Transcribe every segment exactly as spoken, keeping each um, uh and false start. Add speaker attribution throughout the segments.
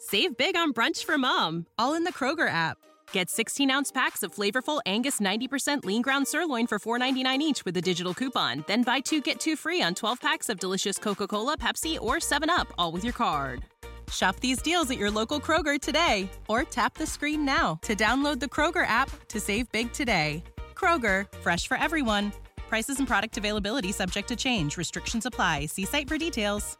Speaker 1: Save big on brunch for mom, all in the Kroger app. Get sixteen-ounce packs of flavorful Angus ninety percent lean ground sirloin for four ninety-nine each with a digital coupon. Then buy two, get two free on twelve packs of delicious Coca-Cola, Pepsi, or seven up, all with your card. Shop these deals at your local Kroger today, or tap the screen now to download the Kroger app to save big today. Kroger, fresh for everyone. Prices and product availability subject to change. Restrictions apply. See site for details.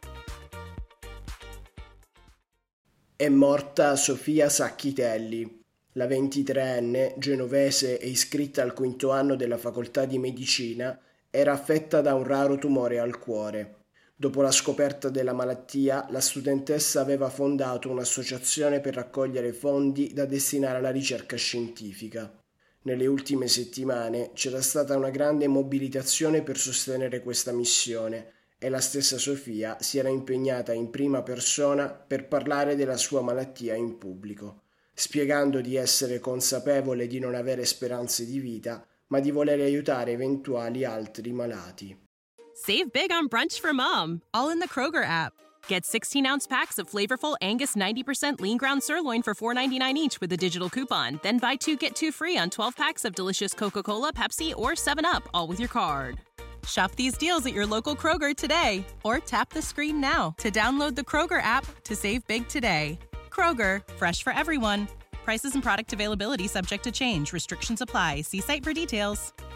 Speaker 2: È morta Sofia Sacchitelli. La ventitreenne, genovese e iscritta al quinto anno della facoltà di medicina, era affetta da un raro tumore al cuore. Dopo la scoperta della malattia, la studentessa aveva fondato un'associazione per raccogliere fondi da destinare alla ricerca scientifica. Nelle ultime settimane c'era stata una grande mobilitazione per sostenere questa missione e la stessa Sofia si era impegnata in prima persona per parlare della sua malattia in pubblico, spiegando di essere consapevole di non avere speranze di vita, ma di voler aiutare eventuali altri malati.
Speaker 1: Save big on brunch for mom, all in the Kroger app. Get sixteen-ounce packs of flavorful Angus ninety percent lean ground sirloin for four ninety-nine each with a digital coupon. Then buy two, get two free on twelve packs of delicious Coca-Cola, Pepsi, or seven up, all with your card. Shop these deals at your local Kroger today, or tap the screen now to download the Kroger app to save big today. Kroger, fresh for everyone. Prices and product availability subject to change. Restrictions apply. See site for details.